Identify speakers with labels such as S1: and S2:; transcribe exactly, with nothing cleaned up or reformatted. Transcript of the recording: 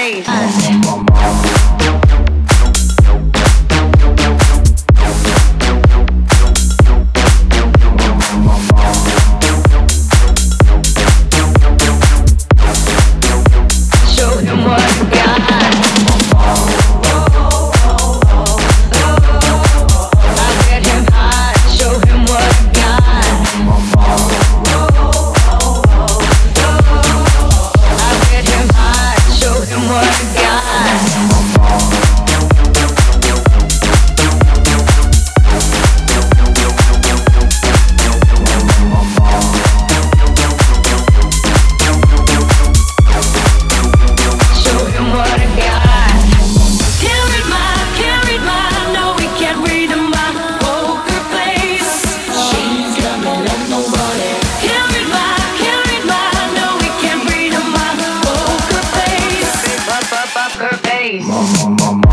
S1: face. Show him what you got. I'll get him high. Show him what you got. I'll get him high. Show him what you got. Show him what I got. Can't read my, can't read my, no, we can't read my poker face. She's got me like nobody. Can't read my, can't read my, no, we can't read my poker face. Poker face.